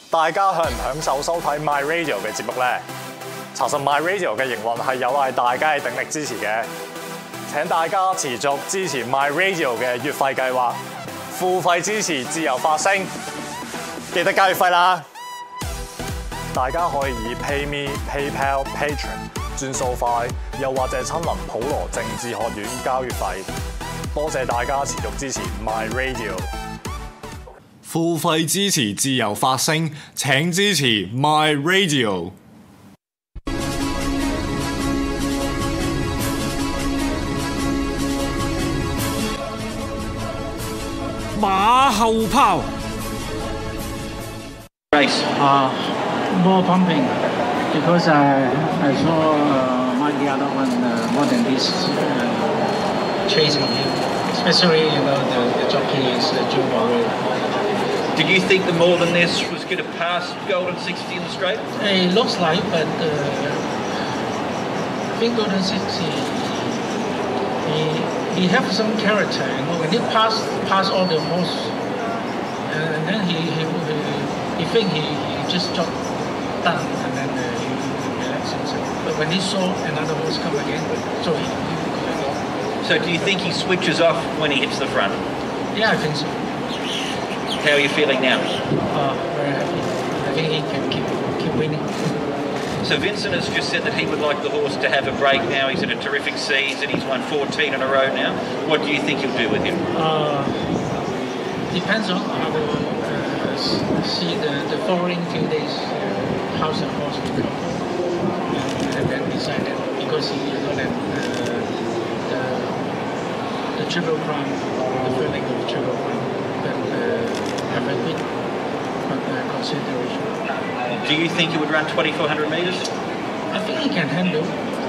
大家享唔享受收睇 My Radio 嘅節目呢？查實 My Radio 嘅營運係有賴大家嘅鼎力支持嘅。請大家持續支持 My Radio 嘅月費計劃，付費支持自由發聲，記得交月費啦！大家可以以 PayMe、PayPal、Patreon 轉數快，又或者親臨普羅政治學院交月費。多謝大家持續支持 My Radio。付費支持自由發聲，請支持 My Radio。 馬後炮。 Race. More pumping because I saw the other one more than this chasing him, especially the jockey is Joe Morel. Did you think the more than this was going to pass Golden 60 in the straight? It looks like, but I think Golden 60 he have some character. When he pass all the horse, and then he think he just got done, and then he relaxed himself. But when he saw another horse come again, so he could go. So do you think he switches off when he hits the front? Yeah, I think so. How are you feeling now? Very happy. I think he can keep winning. So Vincent has just said that he would like the horse to have a break now. He's in a terrific season. He's won 14 in a row now. What do you think he'll do with him? Depends on how we see the following few days, how's the horse will come. And then decide that, because he got the Triple Crown, the feeling of Triple Crown, that have a big consideration. Do you think he would run 2,400 metres? I think he can handle.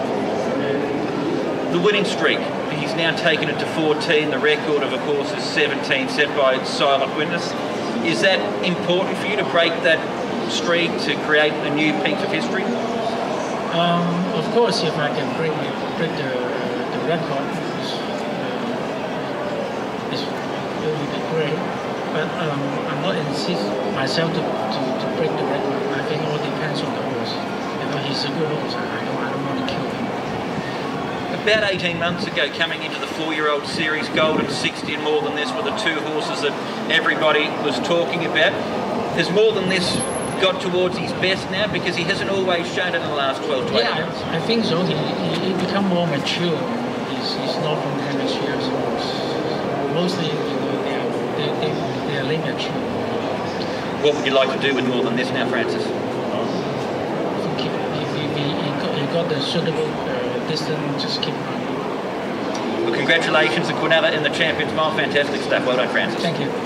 The winning streak, he's now taken it to 14. The record, of course, is 17, set by Silent Witness. Is that important for you to break that streak, to create a new piece of history? Of course, if I can break the record, it will be great. But I'm not insist myself to break the record. I think all depends on the horse. He's a good horse. I don't want to kill him. About 18 months ago, coming into the 4-year-old series, Golden 60 and More Than This were the two horses that everybody was talking about. Has More Than This got towards his best now? Because he hasn't always shown it in the last 12 to 18 months. Yeah, I think so. He become more mature. He's Northern Hemisphere's horse. Mostly, they are late mature. What would you like to do with More Than This now, Francis? He got the suitable distance, just keep running. Well, congratulations to Quinella in the Champions Mile. Fantastic stuff. Well done, Francis. Thank you.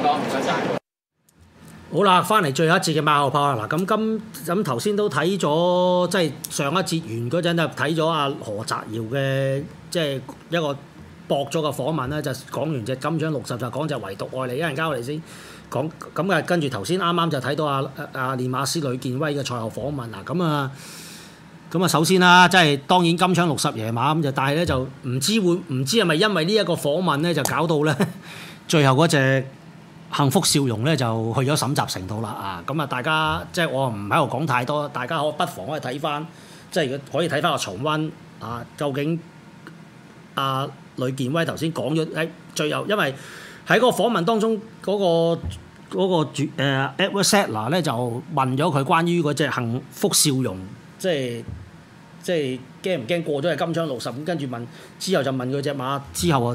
好啦，翻嚟最後一節嘅馬後炮啦。嗱，咁頭先都睇咗，即係上一節完嗰陣就睇咗阿何澤堯嘅，即係一個駁咗嘅訪問咧，就講完隻金獎60就講隻唯獨愛你，一陣間我哋先講。咁啊，跟住頭先啱啱就睇到阿練馬師呂健威嘅賽後訪問嗱，咁啊，首先啦，即係當然金槍60爺馬咁就，但係咧就唔知係咪因為呢一個訪問咧就搞到咧最後嗰隻幸福笑容咧就去咗審集成度啦啊！咁啊，大家即係我唔喺度講太多，大家不妨可以睇翻，即係可以睇翻個重溫啊，究竟阿呂健威頭先講咗喺最後，因為喺嗰個訪問當中嗰個Edward Settler 咧就問咗佢關於嗰隻幸福笑容，即係驚唔驚過咗係金槍60咁，跟住之後就問佢隻馬之後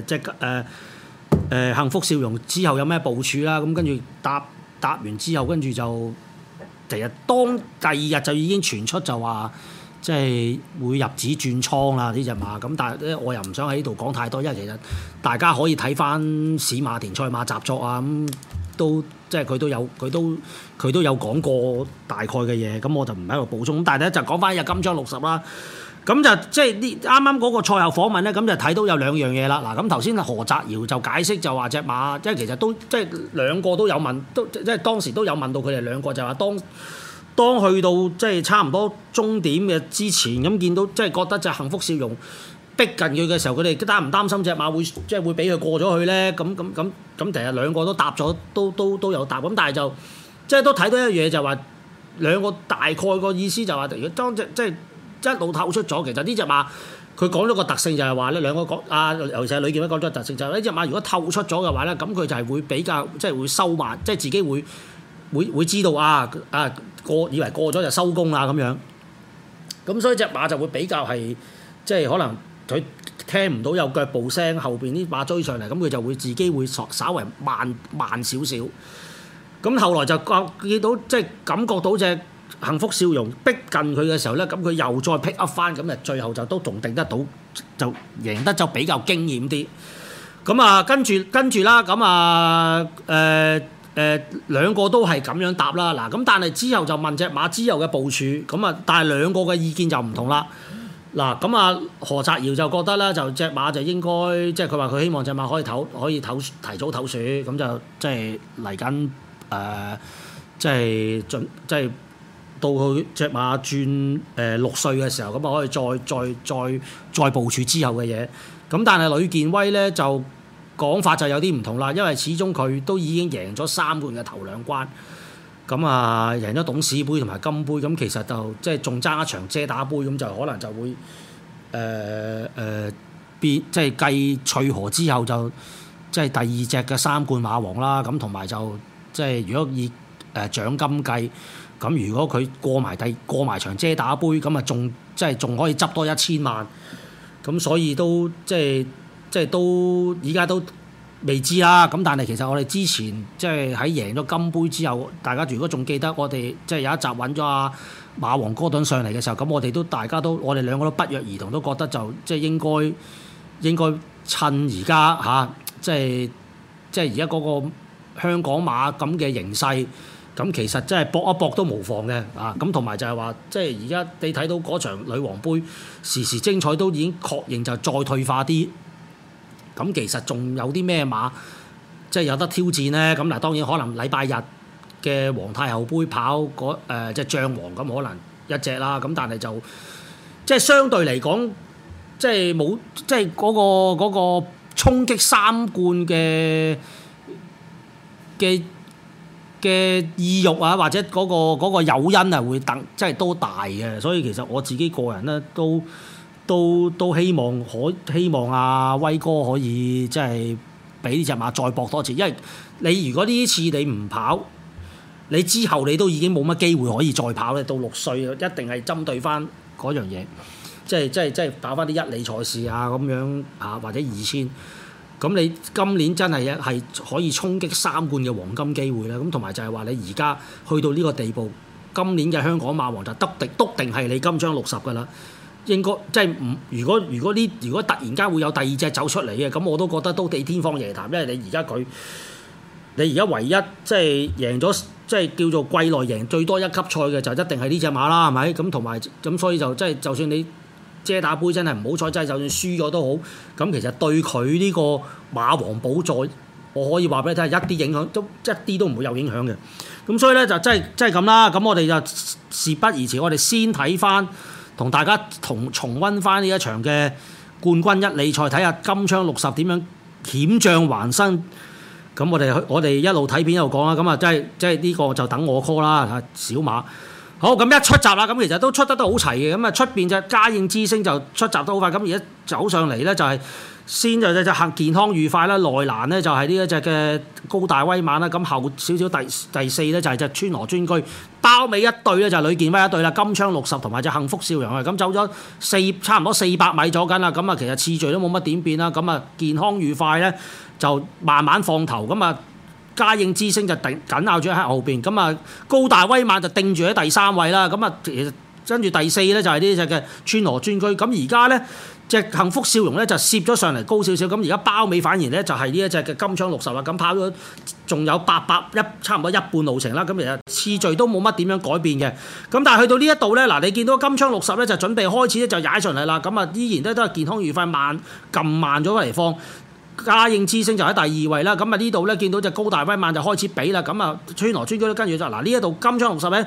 幸福笑容之後有咩部署啦？咁跟住答完之後，跟住就其實第二日就已經傳出就話即係會入紙轉倉啦呢隻馬。咁但係咧我又唔想喺呢度講太多，因為其實大家可以睇翻史馬田賽馬習作啊，咁都即係佢都有講過大概嘅嘢，咁我就唔喺度補充。咁但係咧就講翻日金槍60啦。咁就即係呢啱啱嗰個賽後訪問咧，咁就睇到有兩樣嘢啦。嗱，咁頭先何澤堯就解釋就話隻馬，即係其實都即係兩個都有問，都即係當時都有問到佢哋兩個，就話當去到即係差唔多終點嘅之前，咁見到即係覺得隻幸福笑容逼近佢嘅時候，佢哋擔唔擔心隻馬會即係會俾佢過咗去咧？咁其實兩個都答咗，都有答。咁但係就即係都睇到一樣嘢就係話兩個大概個意思就係話，如果當即係一路透出咗，其實呢隻馬佢講咗個特性就係話咧，兩個講尤其係呂健威講咗個特性就係呢隻馬如果透出咗嘅話咧，咁佢就係會比較即係會收慢，即係自己會知道以為過咗就收工啦咁樣。咁所以隻馬就會比較係即係可能佢聽唔到有腳步聲，後邊啲馬追上嚟，咁佢就會自己會稍為慢少少。咁後來就見到即係感覺到隻幸福笑容逼近佢嘅時候咧，咁佢又再 pick up 翻，咁就最後就都仲定得到，就贏得就比較驚險啲。咁啊跟住啦，咁兩個都係咁樣答啦。嗱咁但係之後就問隻馬之後嘅部署，咁啊但係兩個嘅意見就唔同啦。嗱咁何澤堯就覺得咧，就隻馬就應該即係佢話佢希望隻馬可以提早唞暑，咁就即係嚟緊即係到佢隻馬轉6歲嘅時候，咁啊可以再部署之後嘅嘢。咁但係呂健威咧就講法就有啲唔同啦，因為始終佢都已經贏咗3冠嘅頭2關，咁贏咗董事杯同埋金杯，咁其實就即係仲爭一場遮打杯，咁就可能就會即係繼翠河之後就即係第2隻嘅3冠馬王啦。咁同埋就即係如果以獎金計，咁如果佢過埋場遮打杯，咁啊仲可以執多1000萬，咁所以都即係都依家都未知啦。咁但係其實我哋之前即係喺贏咗金杯之後，大家如果仲記得我哋即係有一集揾咗阿馬王哥頓上嚟嘅時候，咁我哋兩個都不約而同都覺得就即係應該趁而家即係而家嗰個香港馬咁嘅形勢，咁其實真係搏一搏都無妨嘅咁同埋就係話，即係而家你睇到嗰場女王杯時時精彩，都已經確認就再退化啲。咁其實仲有啲咩馬即係有得挑戰呢？咁嗱，當然可能禮拜日嘅皇太後杯跑即係將王咁可能一隻啦。咁但係就即係相對嚟講，即係冇即係嗰個衝擊3冠嘅意欲啊，或者嗰個誘因啊，會即係都大嘅。所以其實我自己個人咧都希望阿威哥可以即係俾呢隻馬再搏多次，因為你如果呢次你唔跑，你之後你都已經冇乜機會可以再跑咧。到6歲一定係針對翻嗰樣嘢，即係跑翻啲1哩賽事啊咁樣或者2000。咁你今年真係可以衝擊3冠嘅黃金機會啦。咁同埋就係話你而家去到呢個地步，今年嘅香港馬王就篤定係你金槍60㗎啦。應該即係唔如果突然間會有第2隻走出嚟嘅，咁我都覺得都地天方夜譚，因為你而家唯一即係贏咗即係叫做季內贏最多1級賽嘅就一定係呢隻馬啦，係咪？咁同埋咁所以就即係就算你遮打杯真係唔好彩，真係就算輸咗都好，咁其實對佢呢個馬王寶座，我可以話俾你聽，一啲影響都一啲都唔會有影響嘅。咁所以咧就真係咁啦。咁我哋就事不宜遲，我哋先睇翻。同大家重溫翻呢一場嘅冠軍1哩賽，睇下金槍60點樣險象環生。咁我哋一路睇片一路講啦。咁啊，即係呢個就等我 call 啦。小馬好，咁一出閘啦，咁其實都出得都好齊嘅。咁啊，出邊隻嘉應之星就出閘得好快。咁而家走上嚟咧就係先就隻行健康愉快啦，內欄咧就係呢一隻嘅高大威猛啦。咁後少少第四咧就係隻川河專居，包尾一對咧就係呂健威一對啦。金槍60同埋隻幸福笑容啊，咁走咗差唔多400米咗緊啦。咁啊，其實次序都冇乜點變啦。咁啊，健康愉快咧就慢慢放頭。咁啊，嘉應之星就緊咬住喺後邊。咁啊，高大威猛就定住喺第3位啦。咁啊，其實跟住第4咧就係呢隻嘅川河專居。咁而家咧隻幸福笑容咧就攝咗上嚟高少少。咁而家包尾反而咧就係呢一隻嘅金槍60啦。咁跑咗仲有差唔多一半路程啦。咁其實次序都冇乜點樣改變嘅。咁但係去到呢一度咧，嗱你見到金槍60咧就準備開始咧就踩上嚟啦。咁啊依然都係健康愉快撳慢咗嚟放。嘉應之星就喺第2位啦。咁啊呢度咧見到隻高大威猛就開始比啦。咁啊川河專居都跟住就嗱呢一度金槍60咧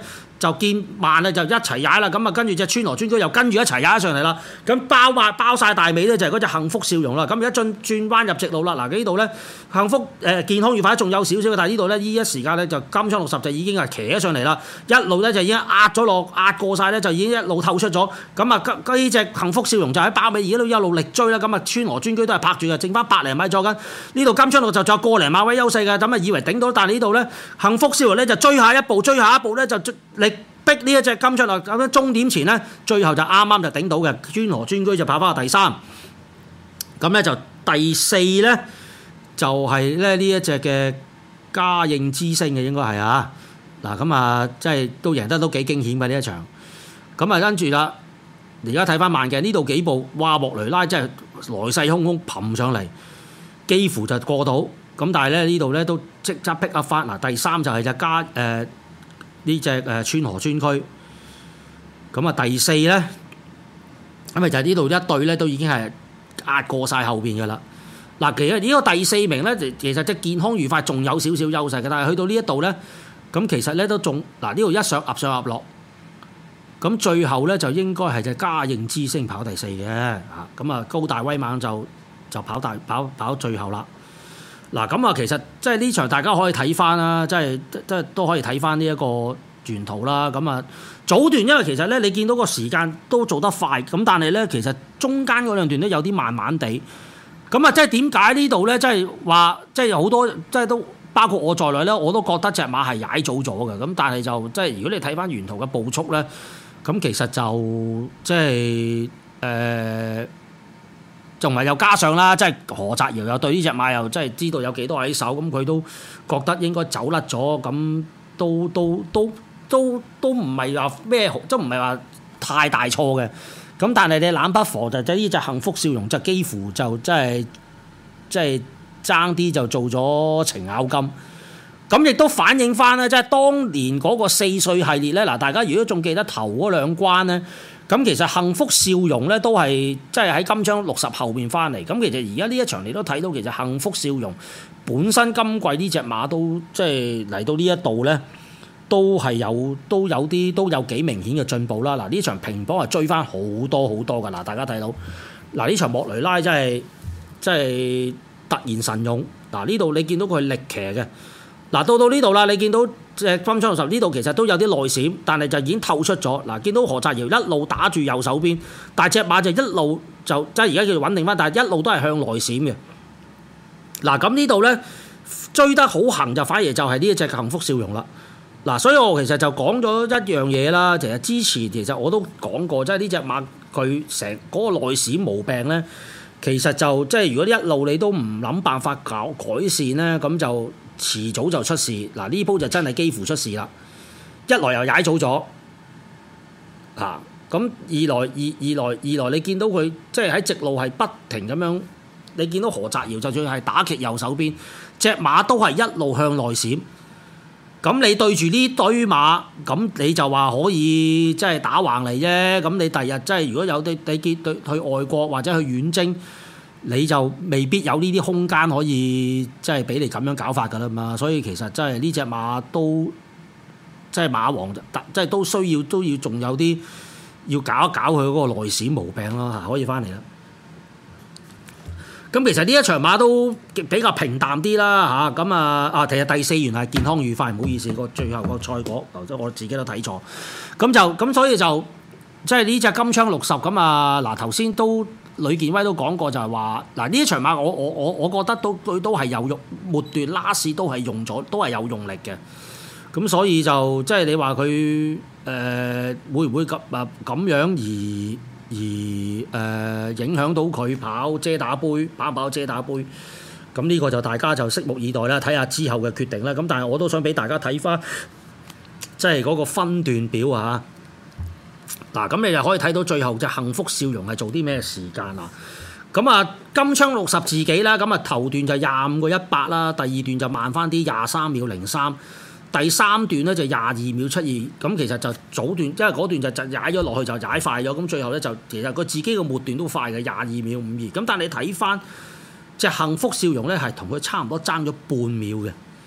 就見慢啦，就一齊踩啦。咁啊，跟住隻川河尊駒又跟住一齊踩上嚟啦。咁包晒大尾咧，就係嗰隻幸福笑容啦。咁而家轉彎入直路啦。嗱，呢度咧幸福健康愉快仲有少少嘅，但係呢度咧呢一時間咧就金槍60就已經係騎咗上嚟啦，一路咧就已經壓過晒咧，就已經一路透出咗。咁啊，呢隻幸福笑容就喺包尾而家都一路力追啦。咁啊，川河尊駒都係拍住嘅，剩翻百零米左緊。呢度金槍6就仲有個零馬位優勢嘅，咁啊以為頂到，但係呢度咧幸福笑容咧就追下一步咧就力逼呢一隻金槍6咁樣終點前咧，最後就啱啱就頂到嘅，川河尊駒就跑翻去第3。咁咧就第4咧就係咧呢一隻嘅嘉應之星嘅應該係啊。嗱咁啊，即係都贏得都幾驚險嘅呢一場。咁啊跟住啦，而家睇翻慢鏡呢度幾步，哇莫雷拉真係來勢洶洶撲上嚟，幾乎就過到。咁但係咧呢度咧都即刻 pick up 翻。嗱第3就係隻呢隻川河尊駒。咁啊第4咧，咁咪就係呢度一隊咧都已經係壓過晒後邊嘅啦。嗱其實呢個第4名咧，其實隻健康愉快仲有少少優勢嘅，但係去到呢一度咧，咁其實咧都仲嗱呢度一上壓落。咁最後咧就應該係隻嘉應之星跑第4嘅嚇，咁啊高大威猛就跑最後啦。嗱咁啊，其實即係呢場大家可以睇翻啦，即係都可以睇翻呢一個沿途啦。咁啊早段因為其實咧你見到個時間都做得快，咁但係咧其實中間嗰兩段都有啲慢慢地。咁啊即係點解呢度咧？即係話即係好多即係都包括我在內咧，我都覺得隻馬係踩早咗嘅。咁但係就即係如果你睇翻沿途嘅步速咧。咁其實就即係仲係又加上啦，即係何澤堯又對呢隻馬又即係知道有幾多喺手，咁佢都覺得應該走甩咗，咁都唔係話咩，即唔係話太大錯嘅。咁但係你冷不防就即係呢隻幸福笑容就幾乎就即係爭啲就做咗程咬金。咁亦都反映翻咧，即係當年嗰個4歲系列咧，嗱大家如果仲記得頭嗰兩關咧，咁其實幸福笑容咧都係即係喺金槍60後面翻嚟。咁其實而家呢一場你都睇到，其實幸福笑容本身今季呢隻馬都即係嚟到呢一度咧，都有幾明顯嘅進步啦。嗱呢場平磅係追翻好多噶。嗱大家睇到嗱呢場莫雷拉真係突然神勇。嗱呢度你見到佢係力騎嘅。嗱到呢度啦，你見到隻金槍60呢度其實都有啲內閃，但係就已經透出咗。嗱，見到何澤堯一路打住右手邊，但係隻馬就一路就即係而家叫做穩定翻，但係一路都係向內閃嘅。嗱咁呢度咧追得好行就反而就係呢一隻幸福笑容啦。嗱，所以我其實就講咗一樣嘢啦。其實之前其實我都講過，即係呢隻馬佢成嗰個內閃毛病咧，其實就即係如果一路你都唔諗辦法改善咧，咁就遲早就出事。嗱呢鋪就真係幾乎出事啦。一來又踩早咗，嚇咁二來你見到佢即係喺直路係不停咁樣，你見到何澤堯就算係打極右手邊，隻馬都係一路向內閃。咁你對住呢堆馬，咁你就話可以即係打橫嚟啫。咁你第日即係如果有你結去外國或者去遠征，你就未必有呢啲空間可以即係俾你咁樣搞法㗎啦嘛。所以其實真係呢隻馬都即係馬王，即係都要仲有啲要搞一搞佢嗰個內閃毛病咯嚇，可以翻嚟啦。咁其實呢一場馬都比較平淡啲啦嚇，咁其實第4原來係健康愉快，唔好意思，個最後個賽果我自己都睇錯，咁所以就即係呢隻金槍60咁啊。嗱頭先都呂健威都講過就係話嗱呢一場馬我覺得佢都係有用，末段拉士都係用咗，都係有用力嘅。咁所以就即係你話佢會唔會咁樣而影響到佢跑遮打杯，跑遮打杯，咁呢個就大家就拭目以待啦，睇下之後嘅決定啦。咁但係我都想俾大家睇翻，即係嗰個分段表啊。嗱，咁你就可以睇到最後隻幸福笑容係做啲咩時間啊？咁啊，金槍60自己啦，咁啊頭段就25個100啦，第二段就慢翻啲23秒03。第3段咧就22秒72，咁其實就早段，因為嗰段就踩咗落去就踩快咗，咁最後咧就其實佢自己個末段都快嘅22秒52，咁但係你睇翻隻幸福笑容咧係同佢差唔多爭咗半秒嘅，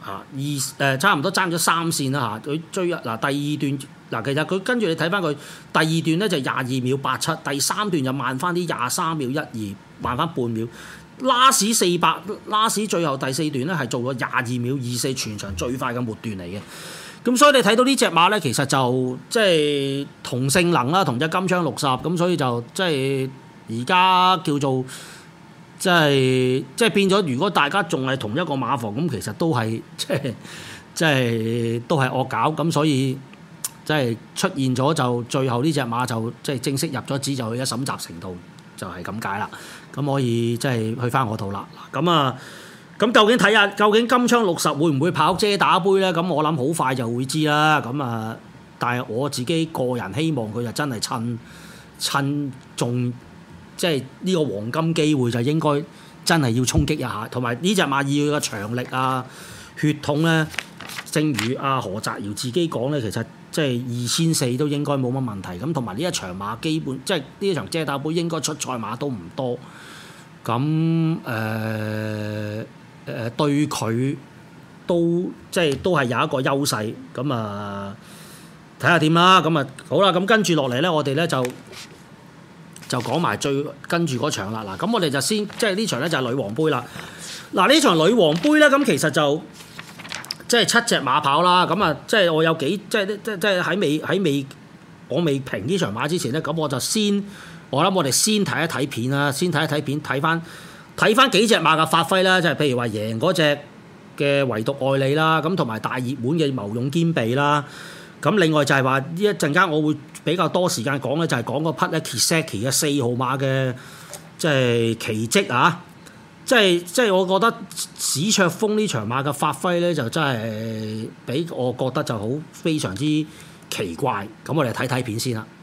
差唔多爭咗3線啦嚇，佢追第二段其實佢跟住你睇翻佢第二段咧就22秒87，第3段就慢翻啲23秒12，慢翻半秒。last 最後第4段咧係做咗22秒24，全場最快嘅末段嚟嘅。咁所以你睇到呢隻馬咧，其實就即係同性能啦，同隻金槍60，咁所以就即係而家叫做。即係變咗，如果大家仲係同一個馬房，咁其實都係即係都係惡搞，咁所以即係出現咗就最後呢隻馬就即係正式入咗紙，就去咗審集成道，就係咁解啦。咁可以即係去翻我套啦。咁究竟睇下究竟金槍60會唔會跑遮打杯咧？咁我諗好快就會知啦。但係我自己個人希望佢就真係趁仲。即係呢個黃金機會就應該真係要衝擊一下，同埋呢隻馬要嘅長力啊、血統咧，正如阿何澤堯自己講咧，其實即係2400都應該冇乜問題。咁同埋呢一場馬基本即係呢一場遮打杯應該出賽馬都唔多，咁對佢都即係都係有一個優勢。咁睇下點啦。咁好啦，咁跟住落嚟咧，我哋咧就講埋最跟住嗰場啦。嗱，咁我哋就先即係呢場咧就係女王杯啦。嗱，呢場女王杯咧，咁其實就即係7隻馬跑啦。咁即係我有幾即係喺我未評呢場馬之前咧，咁我諗我哋先睇一睇片啦，先睇一睇片，睇翻幾隻馬嘅發揮啦。即係譬如話贏嗰隻嘅唯獨愛你啦，咁同埋大熱門嘅謀勇兼備啦。咁另外就係話呢一陣間我會比較多時間講咧，就係講嗰匹咧 Kiseki 嘅4號馬嘅即係奇蹟啊！即係我覺得史卓峰呢場馬嘅發揮咧，就真係俾我覺得就好非常之奇怪。咁我哋睇睇片先啦。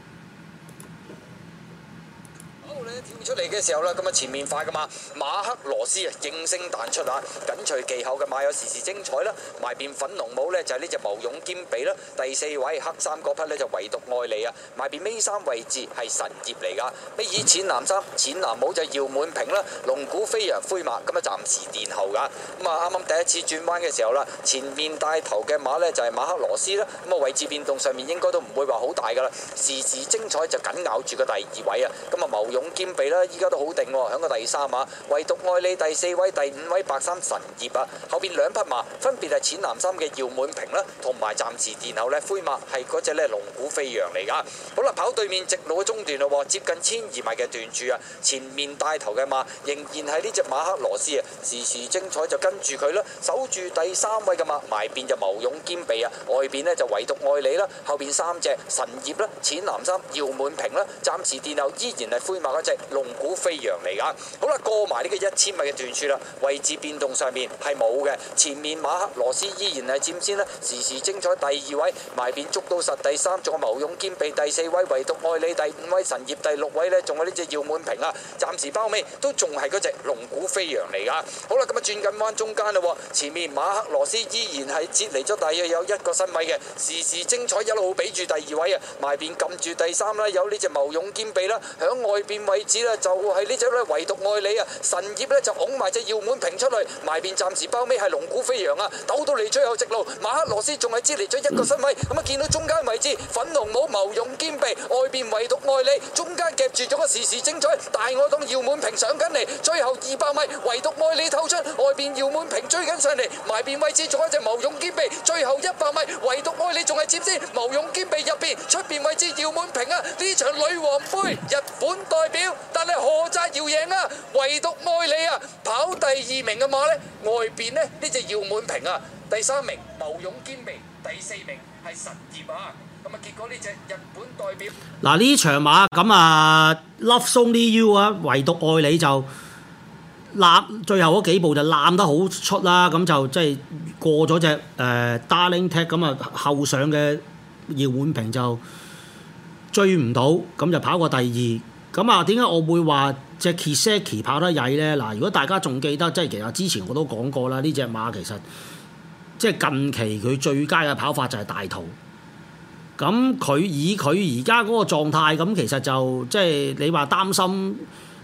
出嚟嘅時候啦，咁前面快噶嘛，馬克羅斯應聲彈出啊，緊隨其後嘅馬有時時精彩啦，埋邊粉紅帽呢，就係呢隻謀勇兼備啦，第4位黑衫嗰匹呢，就唯獨愛你啊，埋邊尾3位置係神業嚟噶，尾二淺藍衫淺藍帽就姚滿平啦，龍鼓飛揚灰馬咁暫時殿後噶，啱啱第一次轉彎嘅時候啦，前面帶頭嘅馬呢，就係馬克羅斯啦，位置變動上面應該都唔會話好大噶啦，時時精彩就緊咬住個第2位啊，謀勇兼備啦。依家都好定喎，響個第3馬，唯獨愛你第4位、第5位白衫神業啊，後邊2匹馬分別係淺藍衫嘅姚滿平啦，同埋暫時殿後咧灰馬係嗰隻咧龍鼓飛揚嚟噶。好啦，跑對面直路嘅中段咯，接近12米嘅段柱啊，前面帶頭嘅馬仍然係呢隻馬克羅斯啊，時時精彩就跟住佢啦，守住第3位嘅馬，埋邊就謀勇兼備啊，外邊呢就唯獨愛你啦，後邊3隻神業啦、淺藍衫姚滿平啦，暫時殿後依然係灰馬嗰隻龍鼓飛揚嚟噶，好啦，過埋呢個1000米嘅段柱啦，位置變動上面係冇嘅，前面馬克羅斯依然係佔先啦，時時精彩第2位，埋邊捉到實第3，仲有謀勇兼備第4位，唯獨愛你第5位，神業第6位呢，仲有呢隻姚滿平啊，暫時包尾都仲係嗰隻龍鼓飛揚嚟噶，好啦，咁轉緊彎中間啦，前面馬克羅斯依然係截離咗大約有1個身位嘅，時時精彩一路俾住第2位啊，埋邊撳住第3啦，有呢隻謀勇兼備啦，響外邊位置啦就係呢隻咧唯獨愛你啊，神業咧就拱埋隻姚滿平出去，埋邊暫時包尾係龍鼓飛揚啊，鬥到嚟最後直路，馬克羅斯仲係支離咗1個身位，見到中間位置粉紅帽謀勇兼備，外邊唯獨愛你，中間夾住咗個時時精彩，大愛黨姚滿平上緊嚟，最後200米唯獨愛你透出，外邊姚滿平追緊上嚟，埋邊位置仲有一隻謀勇兼備，最後100米唯獨愛你仲係接先，謀勇兼備入邊，出邊位置姚滿平啊，呢場女王杯日本代表，但係何澤堯贏啊，唯獨愛你啊，跑第2名嘅馬呢，外邊呢隻姚滿平啊，第3名謀勇兼備，第4名係神業啊，結果呢隻日本代表嗱呢場馬Love Only You 啊，唯獨愛你就攬最後嗰幾步就攬得好出啦，咁就即係過咗隻Darling Tech， 咁後上嘅姚滿平就追唔到，咁就跑過第2。咁點解我會話隻 Kiseki 跑得曳呢？嗱，如果大家仲記得，即係其實之前我都講過啦，呢隻馬其實即係近期佢最佳嘅跑法就係大途。咁佢以佢而家嗰個狀態，咁其實就即係你話擔心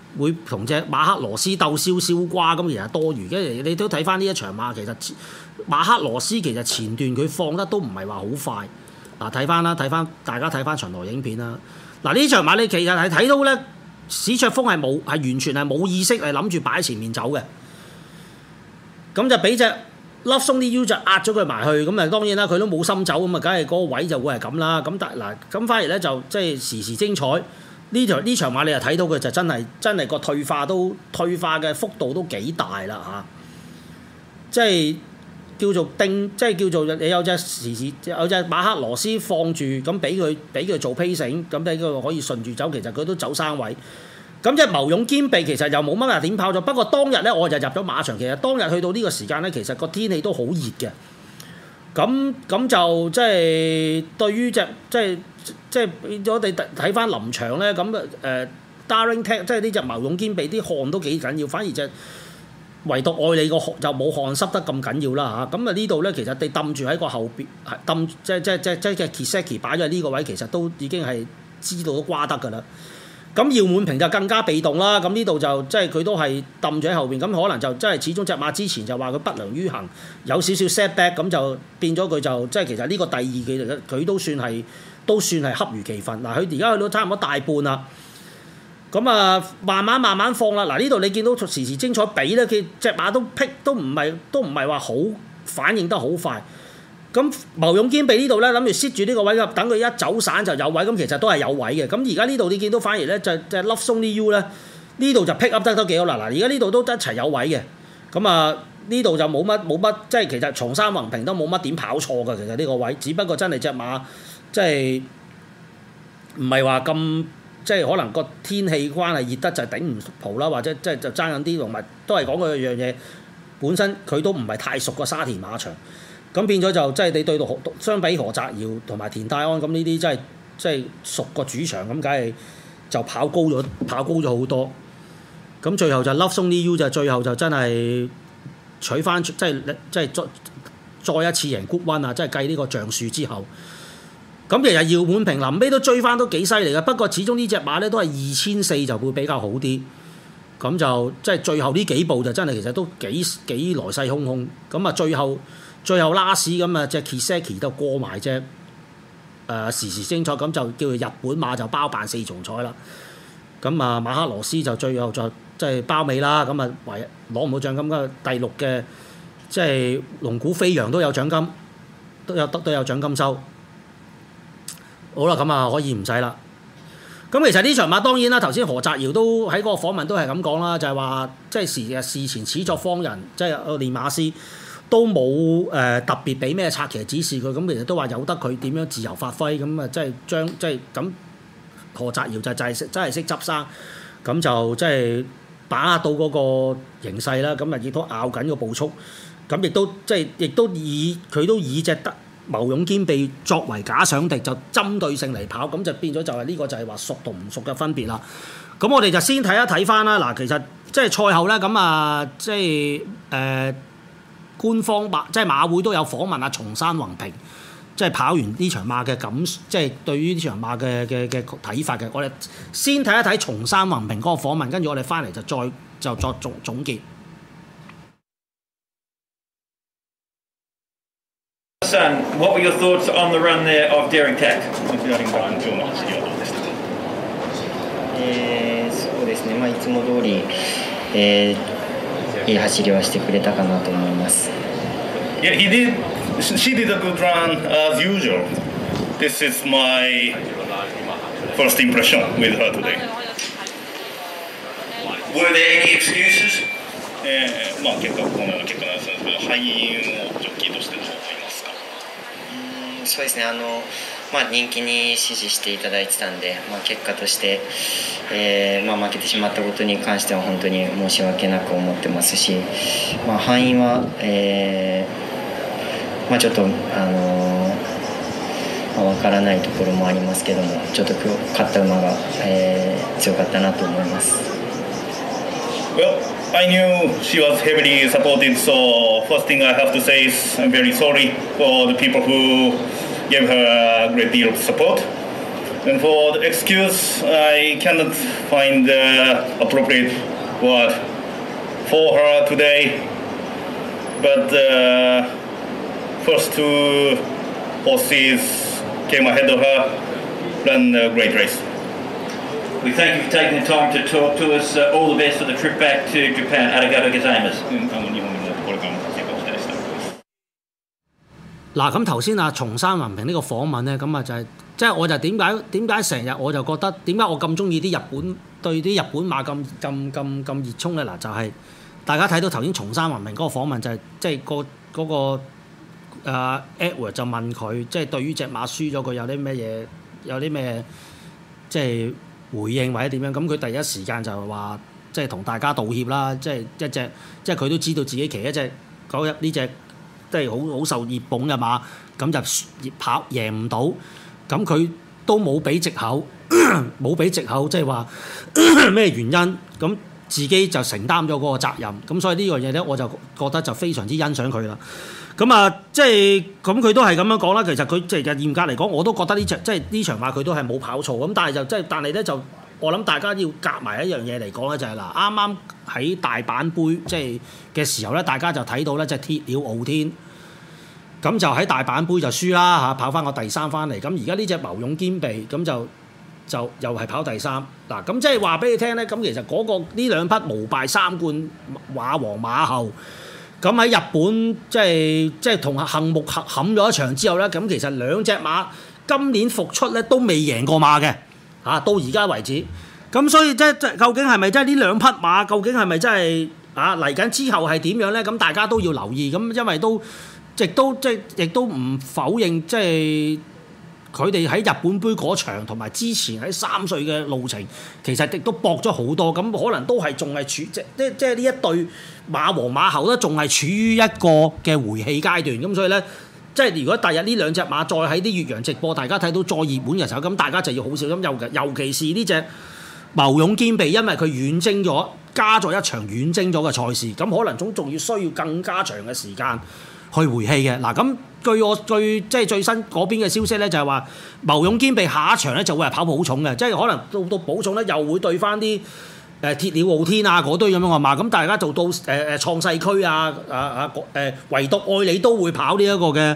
會同隻馬克羅斯鬥燒瓜咁，其實多餘嘅。你都睇翻呢一場馬，其實馬克羅斯其實前段佢放得都唔係話好快。嗱，睇翻啦，大家睇翻巡邏影片啦。嗱，呢場馬你其實係睇到咧，史卓峰係完全係冇意識係諗住擺喺前面走嘅。咁就俾隻 Love Song You 就壓咗佢埋去，咁啊當然啦，佢都冇心走，咁啊梗係嗰個位就會係咁啦。咁但嗱，咁反而咧就即係時精彩。呢場馬你又睇到佢就真係個退化嘅幅度都幾大啦嚇，即係叫做即係叫做你有隻馬克羅斯放住，咁俾佢做 pacing， 咁俾佢可以順住走，其實佢都走生位。咁即係謀勇兼備，其實又冇乜話點跑咗。不過當日咧我就入咗馬場，其實當日去到呢個時間咧，其實個天氣都好熱嘅。咁就即係對於即係我哋睇翻臨場咧，咁Daring Tech 即係呢隻謀勇兼備啲汗都幾緊要，反而就唯獨愛你個汗就冇汗濕得咁緊要啦嚇。咁啊呢度咧其實你揼住喺個後邊，揼即係 Kiseki 擺咗喺呢個位，其實都已經係知道都瓜得㗎啦。咁姚滿平就更加被動啦，咁呢度就即係佢都係揼咗喺後邊，咁可能就即係始終隻馬之前就話佢不良於行，有少少 setback，咁就變咗佢就即係其實呢個第二季嚟嘅，佢都算係恰如其分。嗱，佢而家去到差唔多大半啦，咁啊慢慢放啦。嗱，呢度你見到時精彩比咧，佢隻馬都唔係話好反應得好快。咁謀勇兼備呢度咧，諗住 sit 住呢個位，等佢一走散就有位，咁其實都係有位嘅。咁而家呢度你見到反而咧就 Love Song You 咧，呢度就 pick up 得都幾好啦。嗱，而家呢度都一齊有位嘅，咁啊呢度就冇乜，即係其實松山宏平都冇乜點跑錯嘅。其實呢個位，只不過真係隻馬即係唔係話咁，即係可能個天氣關係熱得就頂唔蒲啦，或者即係就爭緊啲，同埋都係講嗰樣嘢，本身佢都唔係太熟個沙田馬場。咁變咗就即係你對到相比何澤堯同埋田泰安咁呢啲，即係熟個主場咁，梗係就跑高咗好多。咁最後就 Love Song You 就最後就真係取翻，即係再一次贏 Group 1啊！即係計呢個橡樹之後。咁其實姚滿平臨尾都追翻都幾犀利嘅，不過始終呢隻馬咧都係2400就會比較好啲。咁就即係最後呢幾步就真係其實都幾來勢洶洶。咁啊最後拉屎咁啊，隻 Kiseki 都過埋隻時精彩，咁就叫做日本馬就包辦4重彩啦。咁啊馬克羅斯就最後就即係包尾啦。咁啊唯攞唔到獎金嘅第6嘅即係龍鼓飛揚都有獎金，都有獎金收。好啦，咁啊可以唔使啦。咁其實呢場馬當然啦，頭先何澤堯都喺嗰個訪問都係咁講啦，就係話即係事前始作方人，即係練馬師。都冇特別俾咩策騎指示佢，咁其實都話由得佢點樣自由發揮，咁啊即係咁何澤堯就真係識執生，咁就即係把握到嗰個形勢啦，咁啊亦都咬緊個步速，咁亦都以隻謀勇兼備作為假想敵，就針對性嚟跑，咁就變咗就係呢個就係話熟同唔熟嘅分別啦。咁我哋就先睇一睇翻啦。嗱，其實即係賽後咧，咁啊即係官方即係馬會都有訪問阿松山宏平，即係跑完呢場馬嘅即係對於呢場馬嘅睇法嘅。我哋先睇一睇松山宏平嗰個訪問，跟住我哋翻嚟就作總結。 Son, what were your thoughts on the run there of Daring Tech? そうですね。いつも通り。いい走りはしてくれたかなと思います。 Yeah, she did a good run as usual. This is my first impression with her today. Were there any excuses? 結果このような結果なんですけど、敗因をジョッキーとしてどう思いますか？ そうですね。人気に支持していただいてたんで、結果として、負けてしまったことに関しては本当に申し訳なく思ってますし、敗因は、ちょっとわからないところもありますけども、ちょっと今日勝った馬が、強かったなと思います。 Well, I knew she was heavily supported, so first thing I have to say is I'm very sorry for the people who gave her a great deal of support. And for the excuse, I cannot find the appropriate word for her today. But first two horses came ahead of her, ran a great race. We thank you for taking the time to talk to us. All the best for the trip back to Japan. Arigato gozaimasu. 嗱，咁頭先松山宏平呢個訪問咧，咁啊就係即係我就點解成日我就覺得點解我咁中意啲日本對啲日本馬咁熱衷咧？嗱，就係、大家睇到頭先松山宏平嗰個訪問就係即係嗰個Edward 就問佢即係對於隻馬輸咗佢有啲咩嘢有啲咩即係回應或者點樣？咁佢第一時間就話即係同大家道歉啦，即係一隻即係佢都知道自己騎一隻呢隻。即係好受熱捧嘅馬，咁就跑贏唔到，咁佢都冇俾藉口，冇俾藉口，即係話咩原因，咁自己就承擔咗嗰個責任，咁所以呢樣嘢咧，我就覺得就非常之欣賞佢啦。咁啊，即係咁佢都係咁樣講啦。其實佢即係嚴格嚟講，我都覺得呢場馬佢都係冇跑錯，咁但係咧就我諗大家要夾埋一樣嘢嚟講咧，就係嗱啱啱喺大阪杯即係嘅時候咧，大家就睇到咧，即係鐵鳥傲天，咁就喺大阪杯就輸啦嚇，跑翻個第三翻嚟。咁而家呢隻謀勇兼備咁就又係跑第三嗱。咁即係話俾你聽咧，咁其實呢兩匹無敗三冠馬王馬後，咁喺日本即係同杏木冚咗一場之後咧，咁其實兩隻馬今年復出咧都未贏過馬嘅。到而家為止，咁所以即究竟係咪真係呢兩匹馬？究竟係咪真係嚟緊之後係點樣咧？咁大家都要留意。咁因為亦都唔否認，即係佢哋喺日本杯嗰場同埋之前喺3歲嘅路程，其實亦都搏咗好多。咁可能都係仲係處即係呢一對馬王馬後都仲係處於一個嘅回氣階段。咁所以咧。即係如果第日呢兩隻馬再喺啲越洋直播，大家睇到再熱門嘅時候，咁大家就要好小心。尤其是呢隻謀勇兼備，因為佢遠征咗，加咗一場遠征咗嘅賽事，咁可能仲要需要更加長嘅時間去回氣嘅。嗱，咁據我最新嗰邊嘅消息咧，就係話謀勇兼備下一場咧就會係跑寶重嘅，即係可能到寶重咧又會對翻啲鐵鳥傲天啊嗰堆咁樣嘅馬，咁大家做到創世區唯獨愛你都會跑呢一個嘅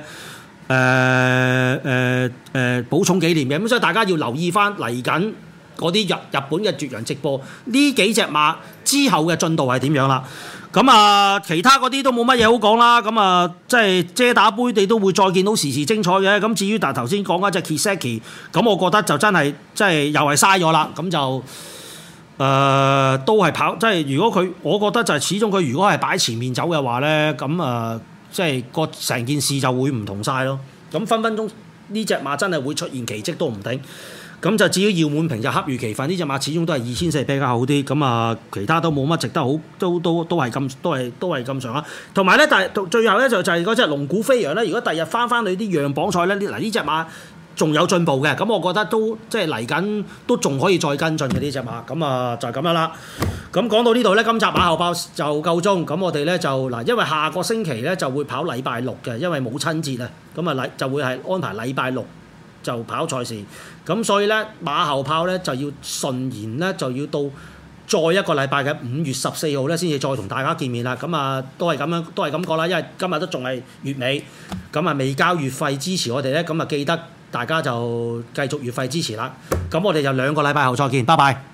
寶重紀念嘅，咁所以大家要留意翻嚟緊嗰啲日本嘅絕陽直播呢幾隻馬之後嘅進度係點樣啦。咁啊，其他嗰啲都冇乜嘢好講啦。咁啊，即係遮打杯你都會再見到時時精彩嘅。咁至於但係頭先講嗰隻 Kiseki， 咁我覺得就真係又係嘥咗啦。咁就都係跑，即係如果我覺得就係始終佢如果係擺前面走嘅話咧，咁即係個成件事就會唔同晒咯。咁分分鐘呢隻馬真係會出現奇蹟都唔定。咁就至於姚滿平就恰如其分，呢隻馬始終都係2400比較好啲。咁其他都冇乜值得好，都係咁上下。同埋咧，但係最後咧就係嗰隻龍鼓飛揚咧。如果第日翻去啲讓磅賽咧，嗱呢隻馬仲有進步嘅，咁我覺得都即係嚟緊都仲可以再跟進嘅呢隻馬，咁就係咁樣啦。咁講到呢度咧，今集馬後炮就夠鐘，咁我哋咧就嗱，因為下個星期咧就會跑禮拜六嘅，因為母親節啊，咁就會係安排禮拜六就跑賽事，咁所以咧馬後炮咧就要順延咧就要到再一個禮拜嘅5月14號咧先至再同大家見面啦。咁都係咁講啦，因為今日都仲係月尾，咁未交月費支持我哋咧，咁記得大家就繼續月費支持啦。咁我哋就2個禮拜後再見，拜拜。